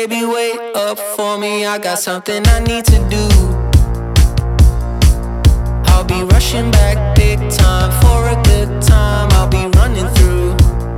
Baby, wait up for me, I got something I need to do. I'll be rushing back big time for a good time. I'll be running through.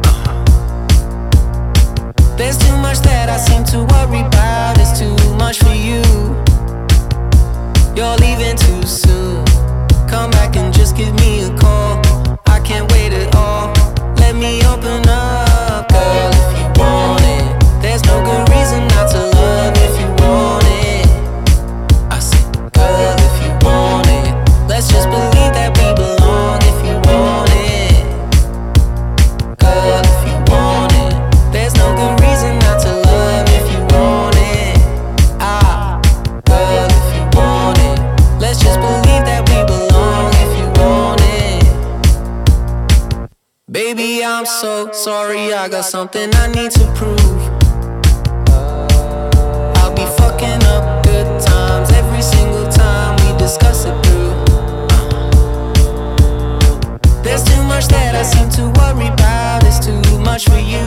There's too much that I seem to worry about. It's too much for you. You're leaving too soon. Come back and just give me a call. I can't wait at all. Let me open up, girl, if you want it. There's no good reason not to love if you want it. I said, girl, if you want it. Let's just believe that we belong if you want it. Girl, if you want it. There's no good reason not to love if you want it. Girl, if you want it. Let's just believe that we belong if you want it. Baby, I'm so sorry, I got something I need to prove. I'll be fucking up good times every single time we discuss it through. There's too much that I seem to worry about. It's too much for you.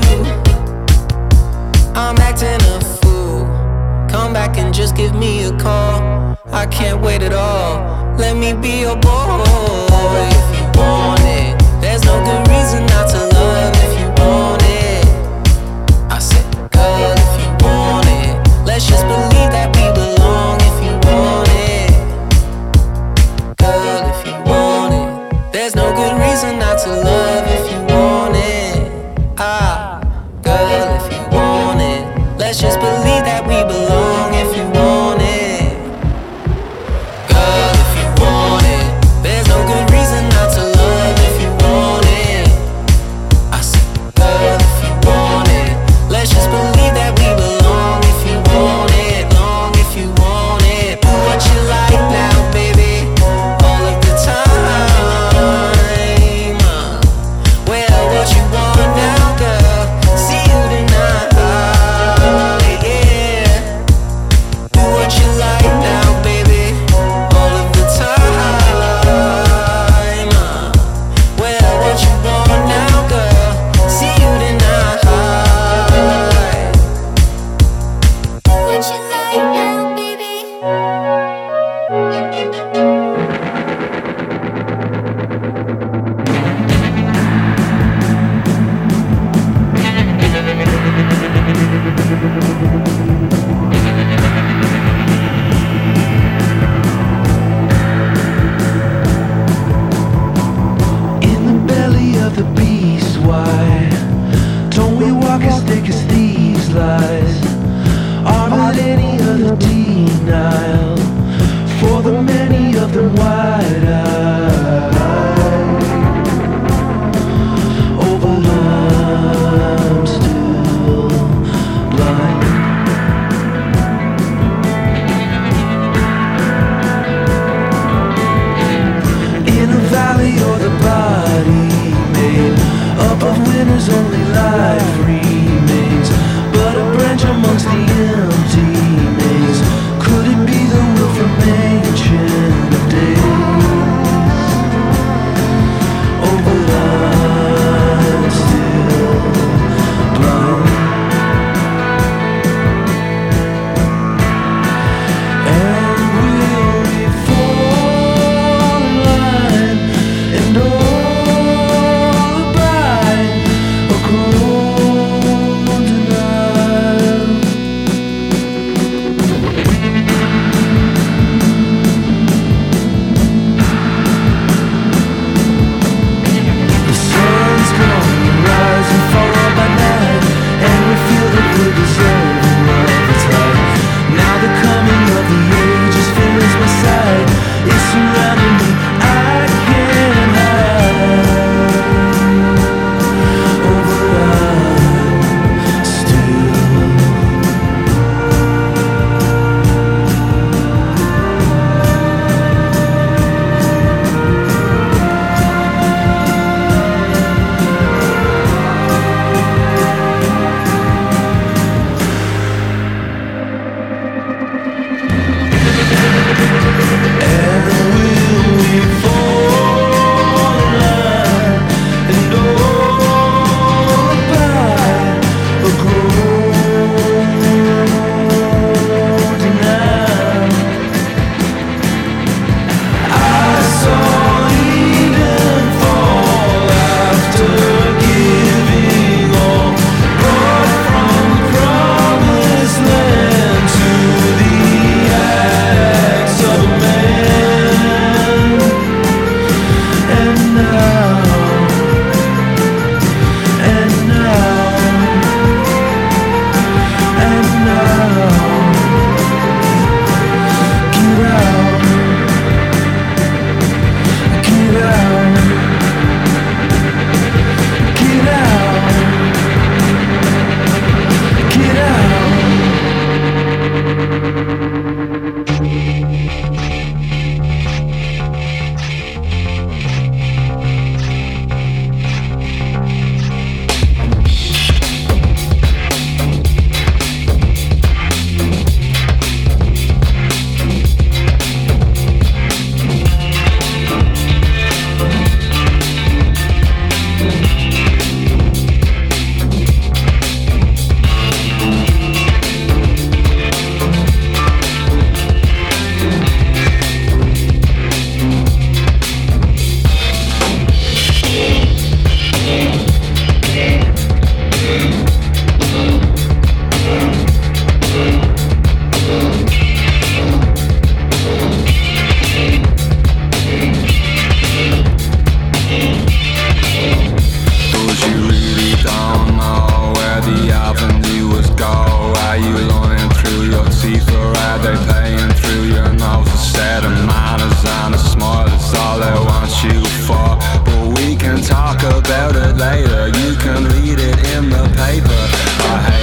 I'm acting a fool. Come back and just give me a call. I can't wait at all. Let me be your boy if you want it. There's no good reason not to love if you want it. I said, girl, if you want it. Let's just believe that we belong if you want it. Girl, if you want it. There's no good reason not to love if you want it. Girl, if you want it. Let's just believe that we belong if you want it. Girl, if you want it. There's no good reason not to love if you want it. I said, girl, if you want it. Let's just believe that we belong if you want it. Long if you want it. Do what you like now, baby. All of the time. Well, what you want now, girl? See you tonight. Yeah. Do what you like now, baby. All of the time. Well, what you want now, girl? See you tonight. Do what you like now, baby. In the belly of the beast, why don't we walk as thick as thieves' lies? Are there any other denial for the many of them wide-eyed? Oh, but I'm still blind. In a valley or the body made up of winners, only life remains but a branch amongst the empty maze. Could it be the will from ancient days? Oh, but I'm still blind. And will we fall in line and all abide a cruel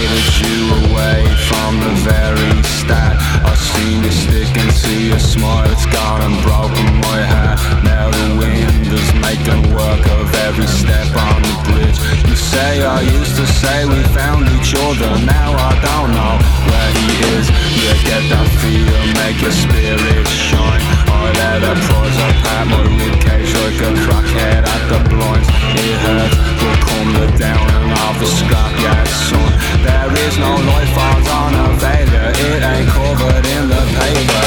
hated you away from the very start. I seen you stick into your smile, it's gone and broken my heart. Now the wind is making work of every step on the bridge. You say I used to say we found each other, now I don't know where he is. You get that feel, make your spirit shine. I let her prize apart my ribcage like a crackhead at the blinds. It hurts, but come the downing of the scrapyard, son. There is no life on a failure, it ain't covered in the paper.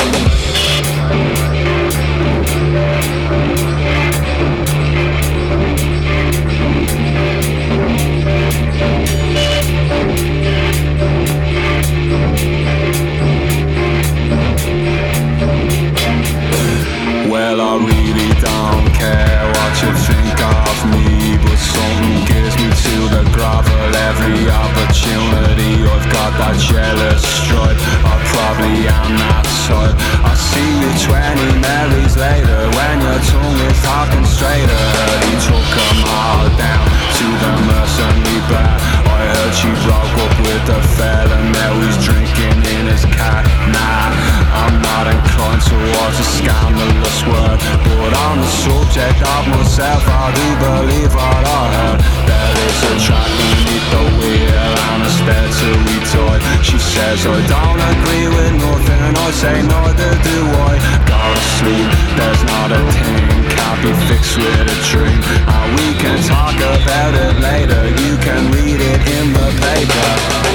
Well, I really don't care what you think of me, but something gives me to the grovel every opportunity. I've got that jealous stripe, I probably am that type. I see you 20 Marys later when your tongue is talking straighter. He took them all down to the mercenary bar. I heard she broke up with a fella, now he's drinking in his car. Nah, I'm not inclined towards a scandalous word, but on the subject of myself I do believe what I heard. There is a track beneath the wheel and a stair to retort. She says I don't agree with nothing, I say neither do I. Go to sleep, there's not a thing can't be fixed with a dream, and we can talk about it later, you can read it in the paper.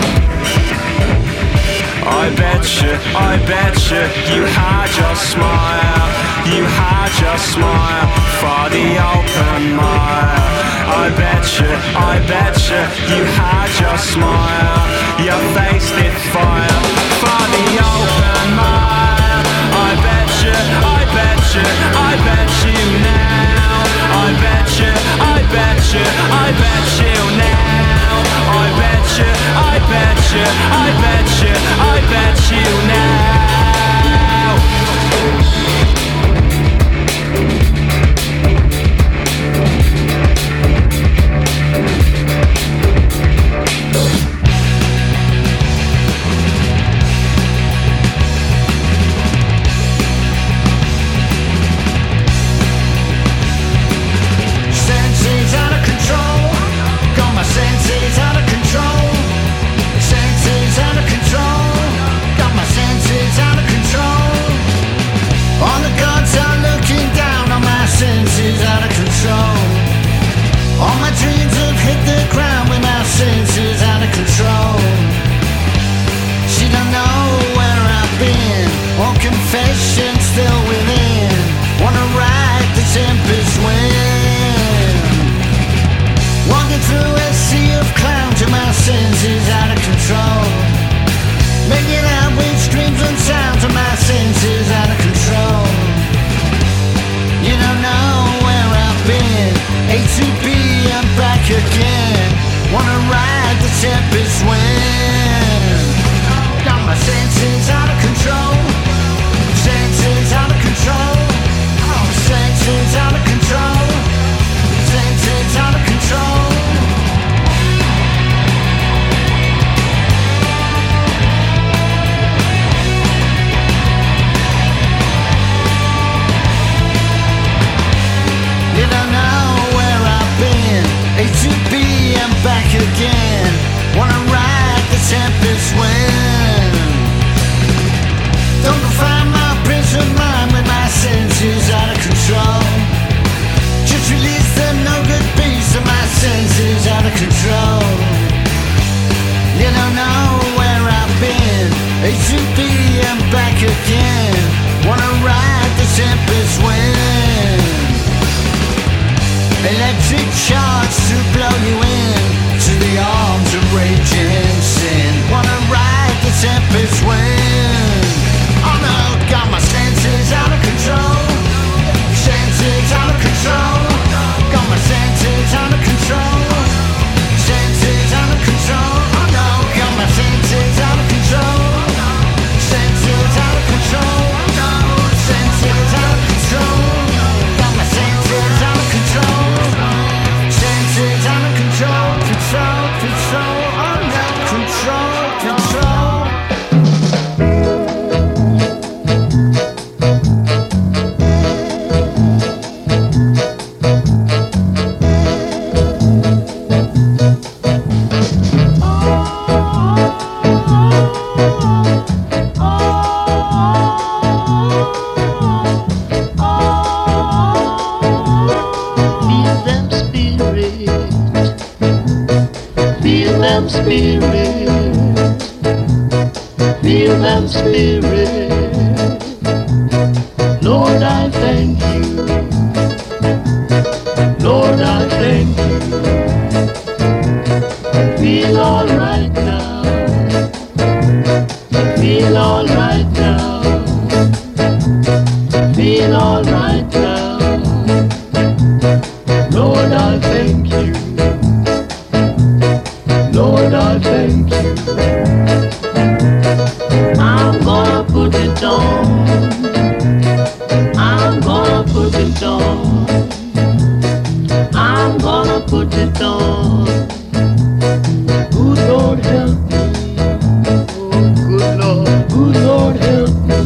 I bet you had your smile, you had your smile for the open mile. I bet you had your smile, your face did fire for the open mile. I bet you now. I bet you now. I bet you now. Senses out of control, got my senses out of control. Senses out of control, got my senses out of control. All the gods are looking down on my senses out of control. All my dreams have hit the ground with my senses out of control. She don't know where I've been, all confession still within. Wanna ride the tempest wind, walking through a sea of clowns and my senses out of control. Making out with screams and sounds and my senses out of control. You don't know where I've been, A to B and back again. Wanna ride the tempest wind. Got my senses out of control, senses out of control. Senses out of control, senses out of control. You don't know where I've been, A to B and back again. Wanna ride the tempest wind. Don't go find my peace of mind with my senses out of control. Just release the no good beast of my senses out of control. You don't know where I've been, A to B and back again. Wanna ride the tempest wind. Electric charge to blow you in to the arms of raging sin. Wanna ride the tempest wind. Oh no, got my senses out of control, senses out of control. Got my senses out of control, senses out of control. Oh no, got my senses out of control, senses out of control. Oh no, senses out of control. Got my senses out of control, senses them spirits, feel them spirits. Lord, I thank you. Lord, I thank you. Feel alright now. Feel alright now. Feel alright now. Lord, I thank you. Lord, I thank you. I'm gonna put it on. I'm gonna put it on. I'm gonna put it on. Good Lord help me. Oh, good Lord help me.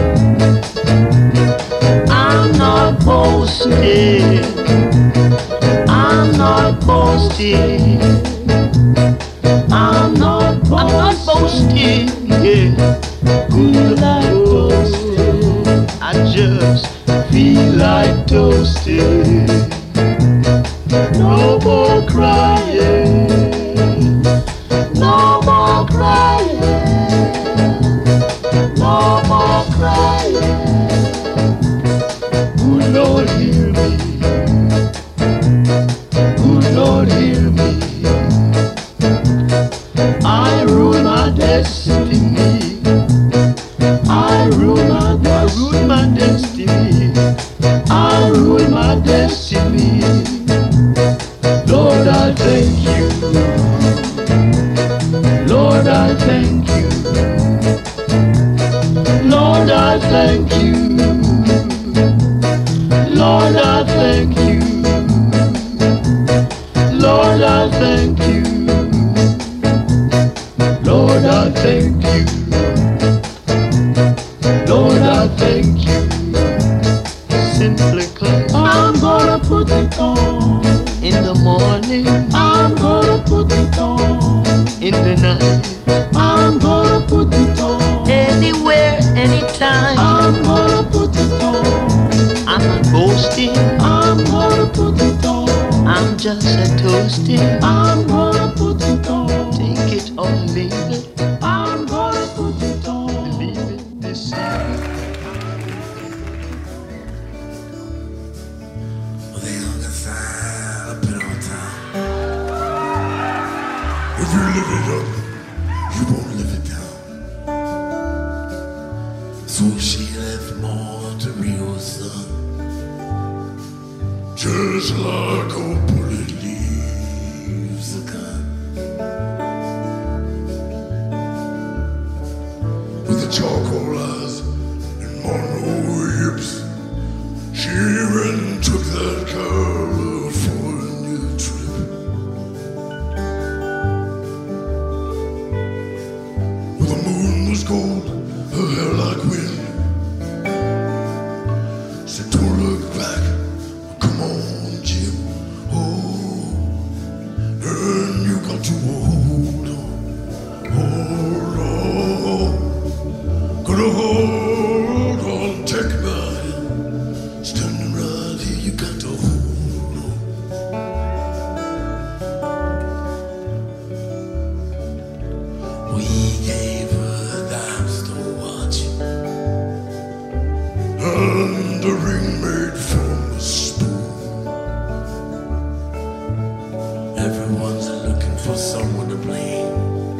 I'm not boasting. I'm not boasting. I'm not boasting. Yeah. Good Lord, I just feel like toasting. No more crying. No more crying. No more crying. Good Lord, hear me. Good Lord, hear me. I rule my destiny. I rule my destiny. I rule my destiny. Lord, I thank you. Lord, I thank you. Lord, I thank you. Lord, I thank you. Lord, I thank you. Lord, I thank you. Lord, I thank you. Simply 'cause I'm gonna put it on. In the morning, I'm gonna put it on. In the night, I'm gonna put it on. Anywhere, anytime, I'm gonna put it on. I'm not boasting, I'm gonna put it on. I'm just a toasting, I'm gonna put it on. Take it or leave it, I'm gonna put it on. Leave it this evening. If you live it up, you won't live it down. So she left Monterey, son, just like a bullet leaves a gun. With the charcoal eyes and Monroe hips, she ran and took that car for a new trip. The moon was gold, her hair like wind. Said don't look back, come on Jim. Oh, and you got to hold on, gotta hold on, take my hand. Standing right here, you got to hold on. We gave her dimes to watch, and the ring made from a spoon. Everyone's looking for someone to blame.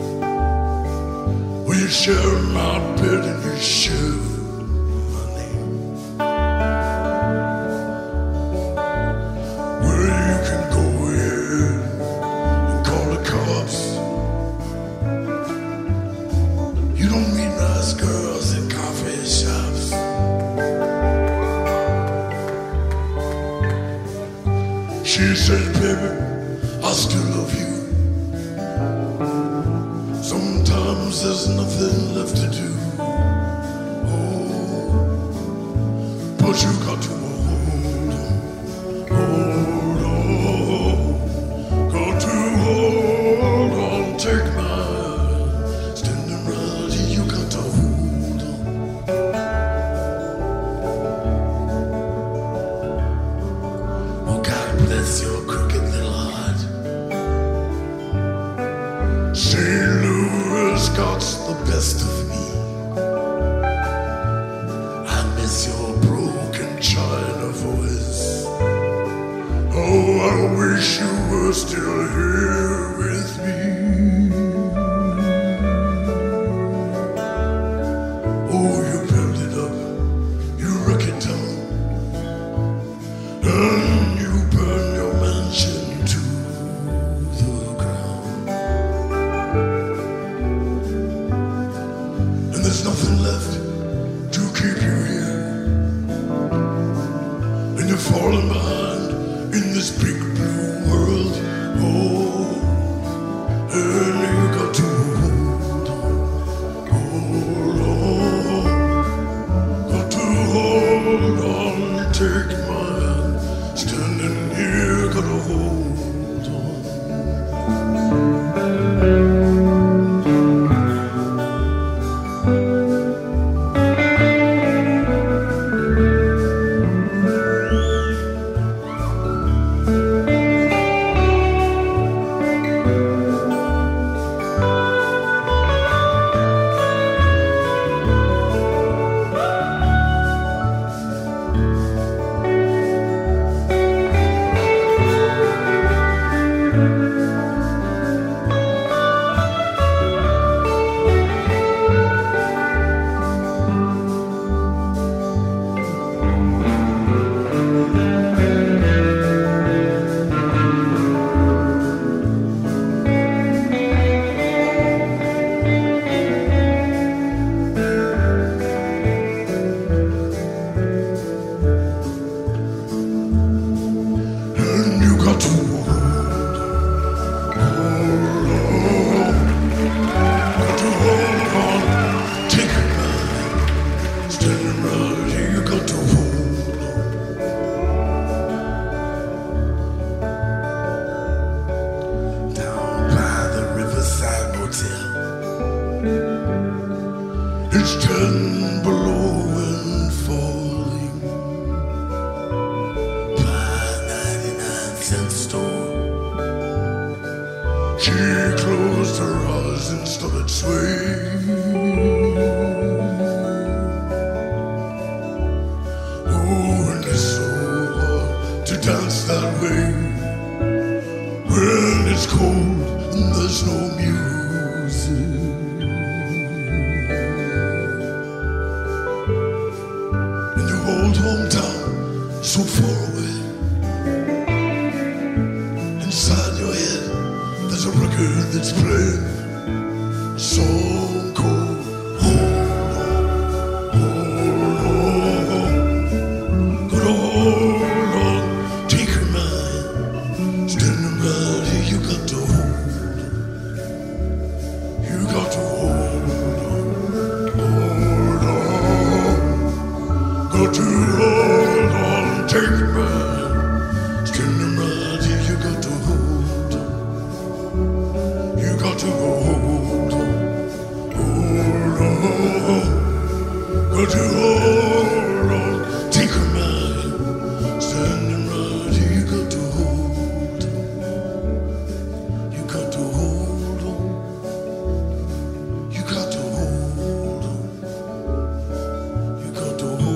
Well, you share my bed and you share my name. Well, you can go ahead and call the cops. You don't meet nice girls in coffee shops. She said, baby, I still love you. Sometimes there's nothing left to do. Oh, but you got to hold on, got to hold on, take my hand. Standing right here, you got to hold on. Oh, God bless your crooked little heart. St. Louis got the best of me. I miss your broken China voice. Oh, I wish you were still here with me. Oh, you build it up, you wreck it down, and you burn your mansion to the ground. And there's nothing left to keep you here, and you're falling behind in this big blue world. Oh, and you got to hold on, got to hold on, take my hand, standing here, gotta hold on. It's 10 below and falling by 99-cent store. She closed her eyes and started swaying. Oh, and it's so hard to dance that way when it's cold and there's no music. Old hometown, so far away. Inside your head, there's a record that's playing a song called Hold On, gotta hold on, take her mind, standing right here, you got to hold on, you got to hold on. Got to hold on, take it back. Standing right here, you got to hold on. You got to hold on, hold on. Got to hold on, take it back. Standing right here, you got to hold on. You got to hold on. You got to hold on. You got to hold on.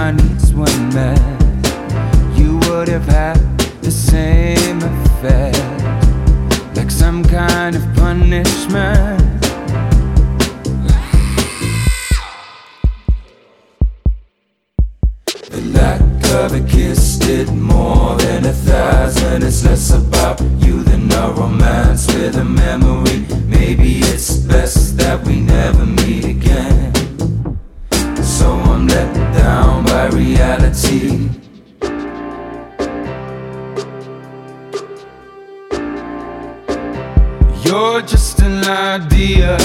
my needs weren't met, you would have had the same effect, like some kind of punishment. The lack of a kiss did more than 1,000. It's less about you than a romance with a memory. Maybe it's best that we never meet again. So I'm let down by reality. You're just an idea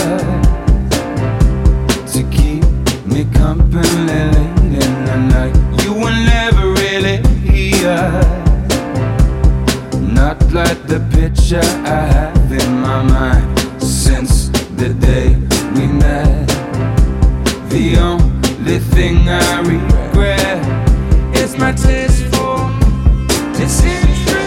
to keep me company late in the night. You were never really here, not like the picture I have in my mind. Since the day we met, the only thing I regret is my taste for disinterest.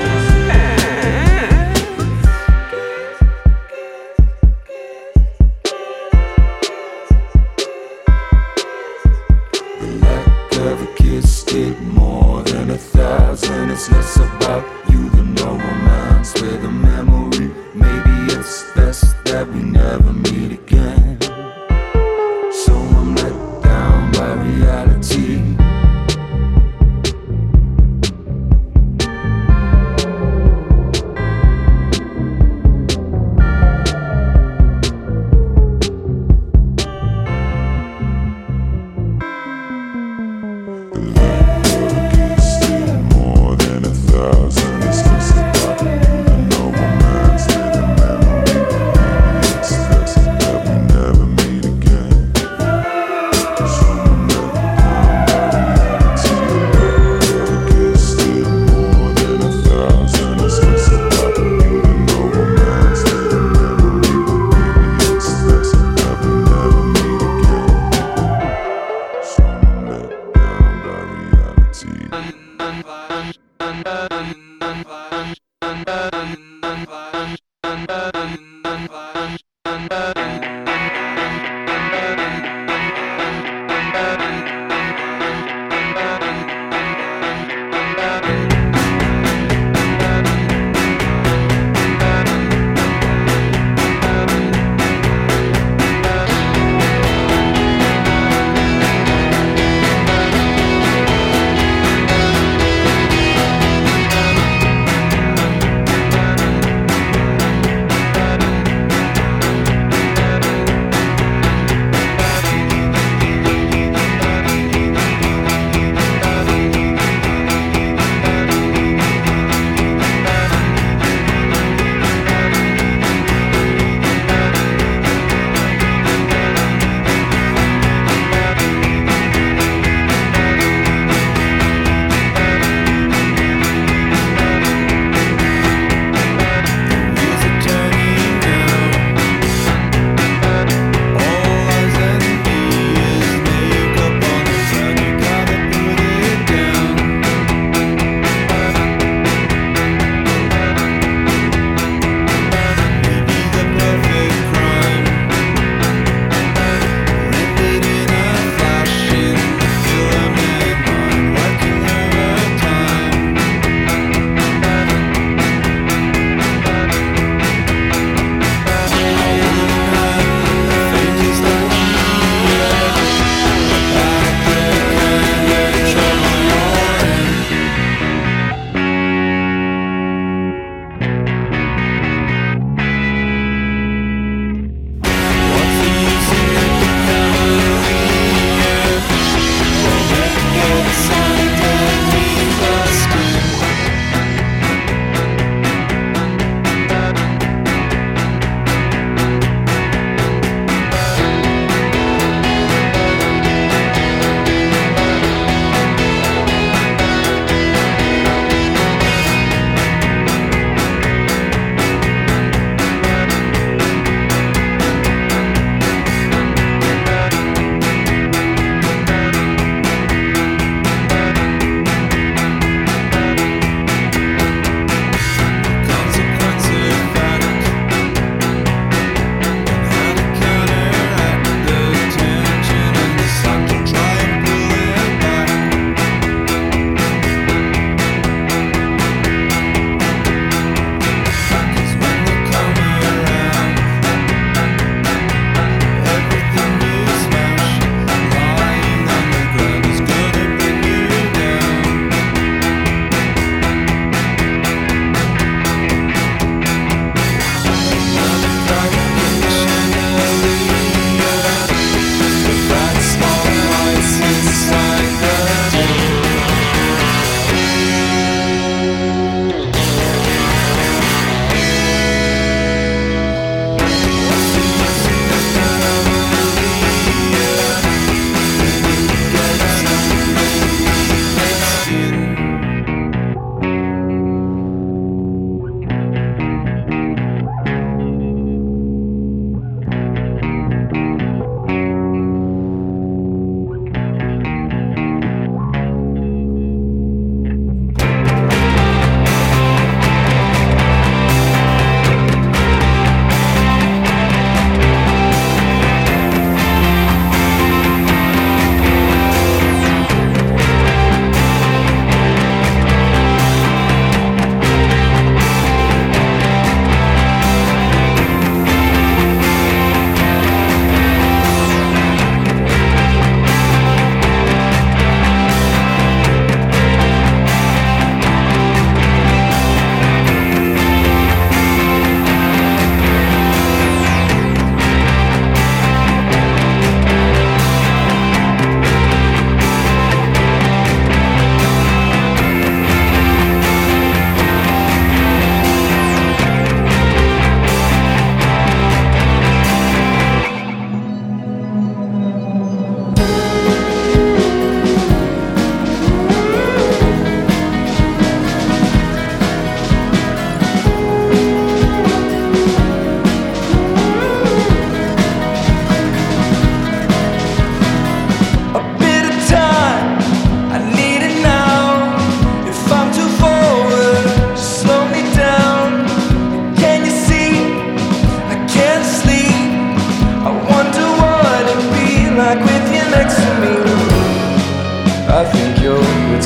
Did more than 1,000. It's less about you than no romance with a memory. Maybe it's best that we never meet again. So I'm let down by reality.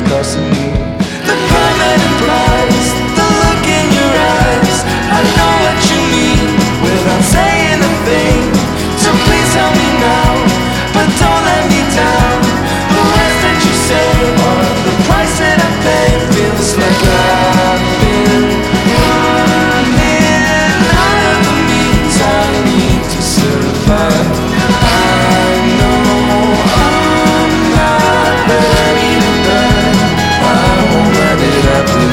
discussing me. The permanent price, the look in your eyes. I know what you mean without saying a thing. So please help me now, but don't let me down. The words that you say are the price that I pay. Feels like I've been running out of the means I need to survive. I know I'm not ready to burn. I won't let it happen.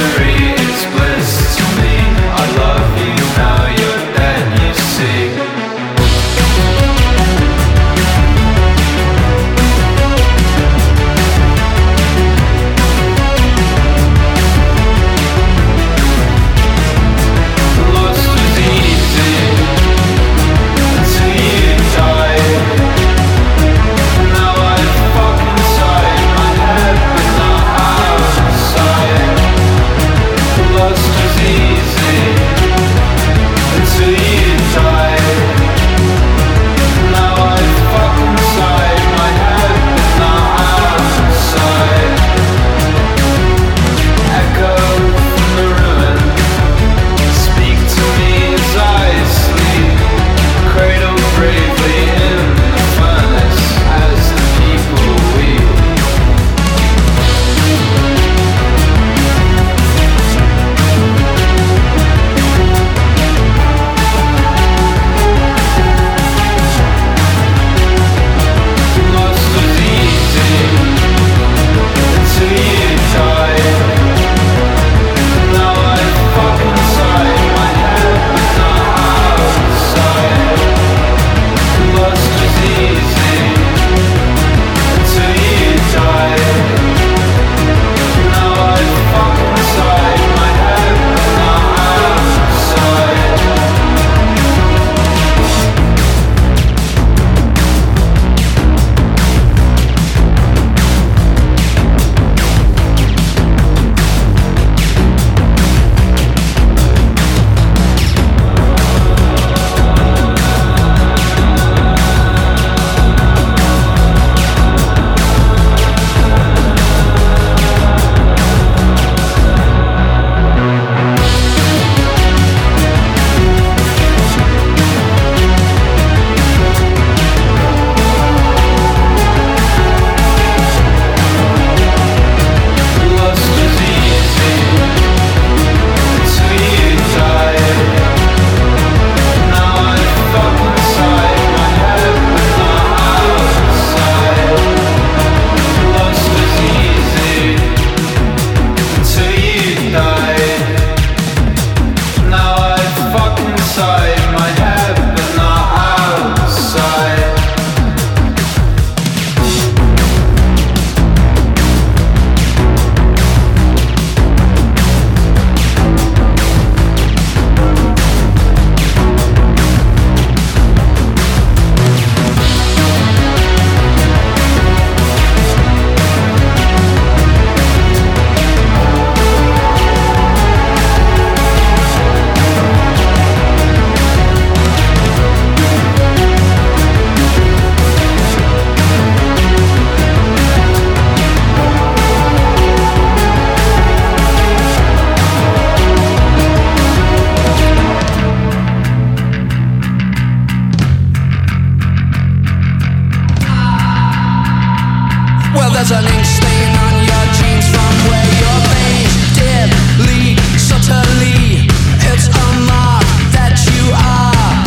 There's an ink stain on your jeans from where your veins did lead subtly. It's a mark that you are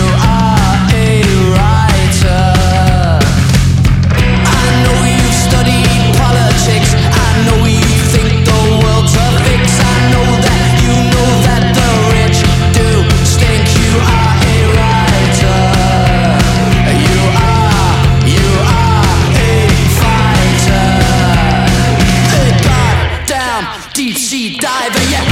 a writer. I know you've studied politics. I know you think the world's a fix. I know that the rich do stink. You are a writer. You are a fighter. A goddamn deep sea diver, yeah.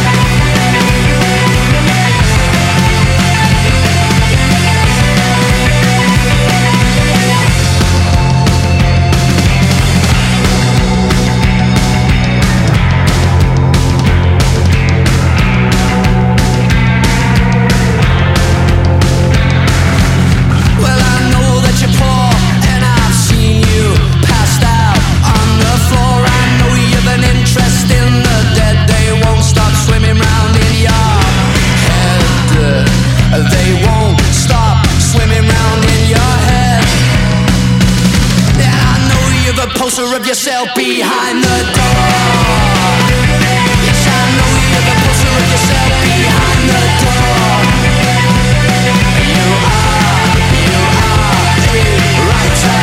Well, I know that you're poor, and I've seen you passed out on the floor. I know you've an interest in the dead. They won't stop swimming round in your head. They won't stop swimming round in your head. And I know you've a poster of yourself behind the door. Yes, I know you've a poster of yourself behind the door. You are a writer.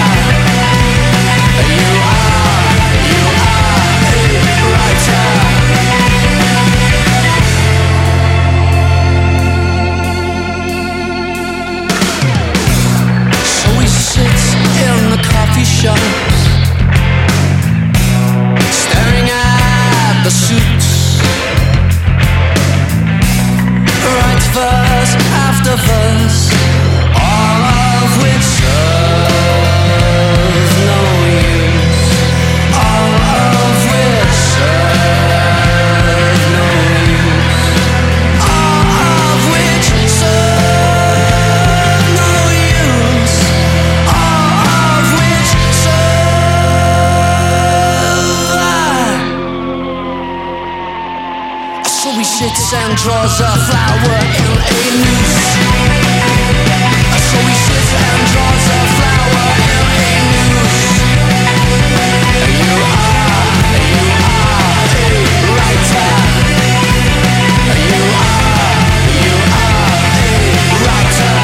You are a writer. So he sits and draws a flower in a noose. So he sits and draws a flower in a noose. You are a writer. You are a writer.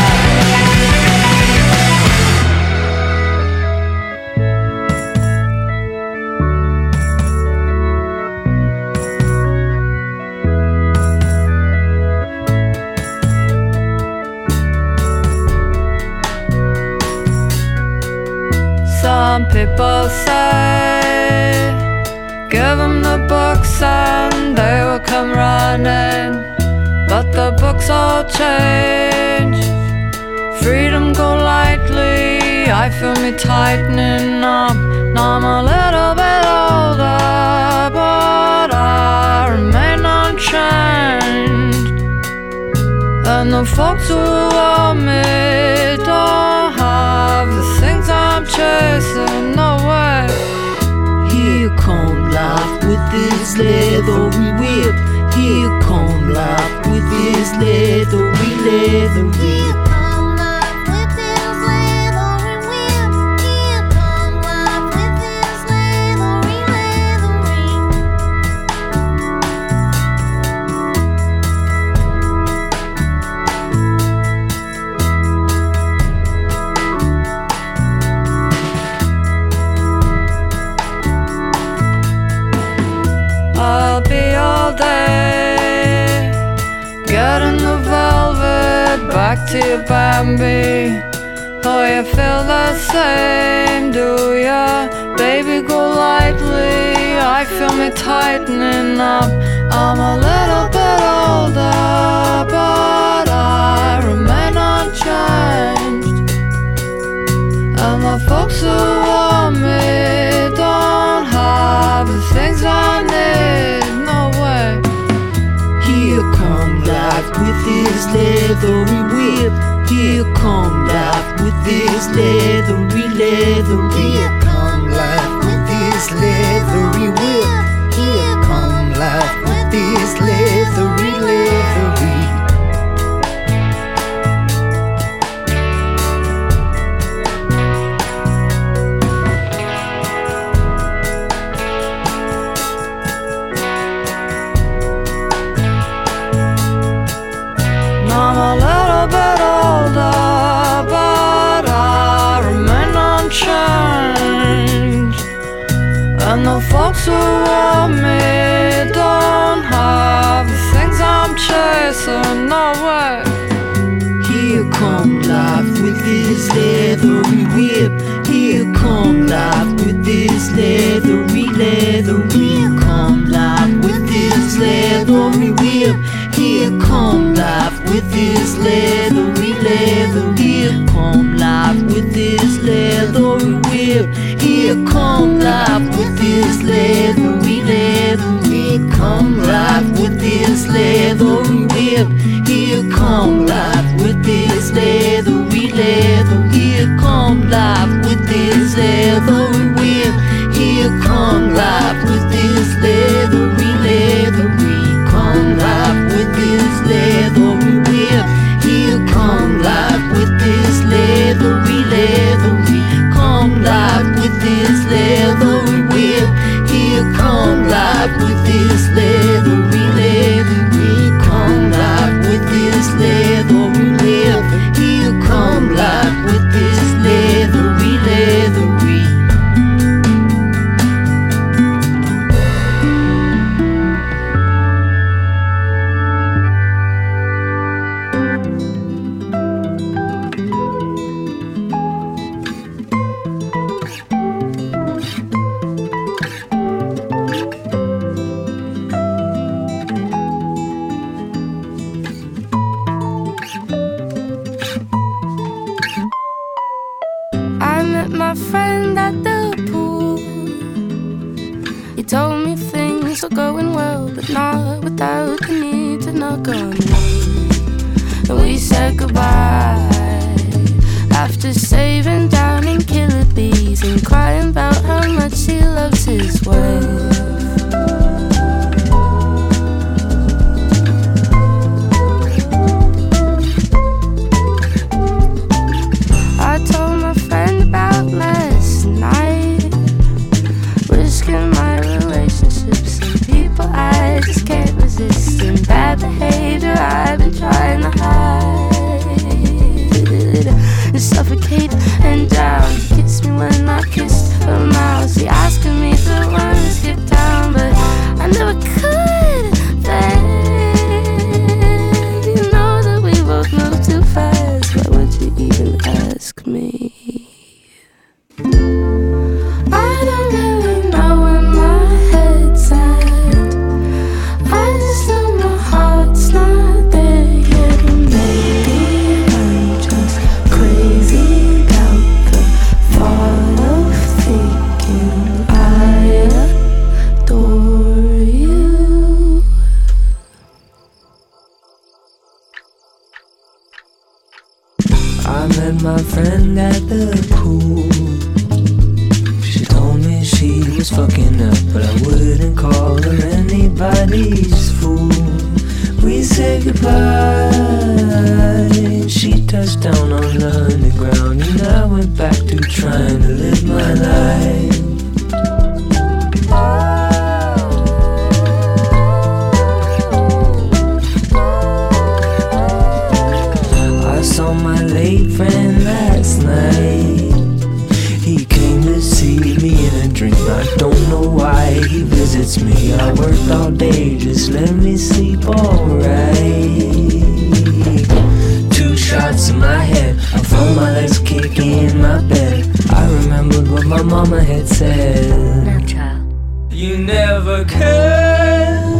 Some people say, give them the books and they will come running. But the books all change. Freedom go lightly, I feel me tightening up. Now I'm a little bit older, but I remain unchanged. And the folks who love me don't have the things I'm chasing, no way. Here come life with this leathery whip. Here come life with this leathery whip. I'll be all day, getting the velvet back to you, Bambi. Oh, you feel the same, do ya? Baby, go lightly, I feel me tightening up. I'm a little bit older, but I remain unchanged. And the folks who want me don't have the things I need, no way. Here come life with this leathery whip. Here come life with this leathery Here come life with this leathery whip. Here come life with this leathery I'm a little bit older, but I remain unchanged. And the folks who want me don't have the things I'm chasing, no way. Here come life with this leathery whip. Here come life with this leathery Here come life with this leathery whip. Here come life with this leathery Here come life with this leathery whip. Here come life with this leathery Here come life with this leathery whip. Here come life with this leathery Here come life with this leathery whip. Here come life with this leathery Come life with this leathery whip. Here come life with this leathery Come life with this leathery whip. Here come life with this leathery Come life with this leathery whip. Here come life with this leathery my friend at the pool. He told me things were going well, but not without the need to knock on wood. And we said goodbye after saving down in killer bees and crying about how much he loves his wife. met my friend at the pool. She told me she was fucking up, but I wouldn't call her anybody's fool. We said goodbye. She touched down on the underground, and I went back to trying to live my life. I saw my late friend last night. He came to see me in a dream. I don't know why he visits me. I worked all day, just let me sleep alright. 2 shots in my head, I felt my legs kicking in my bed. I remembered what my mama had said. Now, child. You never cared